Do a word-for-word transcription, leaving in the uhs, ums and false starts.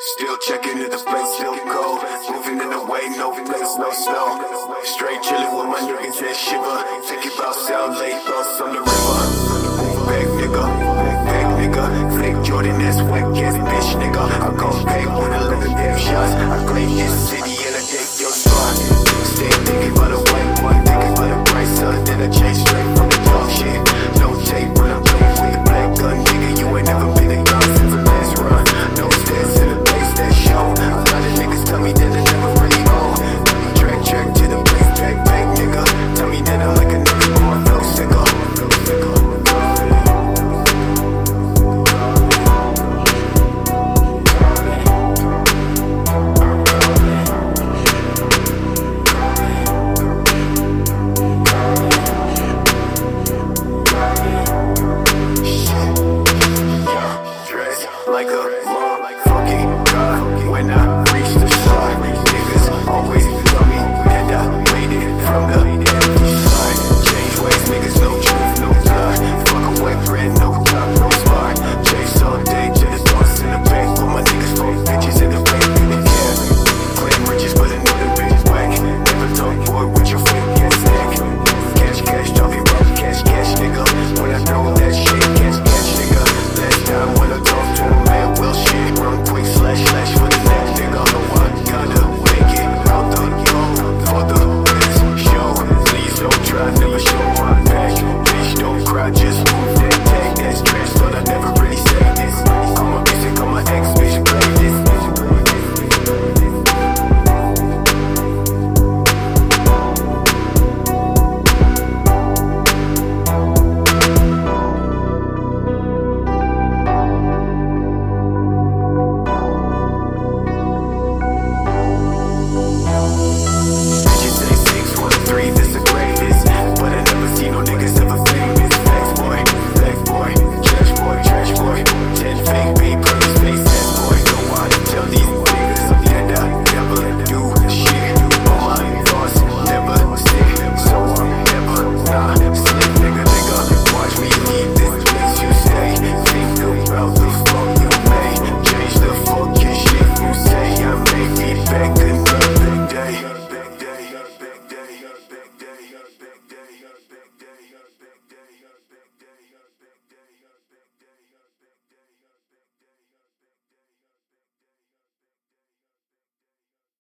Still checking if the place still cold. Moving in the way, no place, no snow. Straight chilling with my niggas and shiver. Thinking about South Lake, thoughts on the river. Back nigga, back nigga. Fake Jordan, that's whack ass bitch nigga. I gon' pay with eleven damn shots. I claim this city and I take your spot. Stay thinking about the white one, thinking about the price, son, then I chase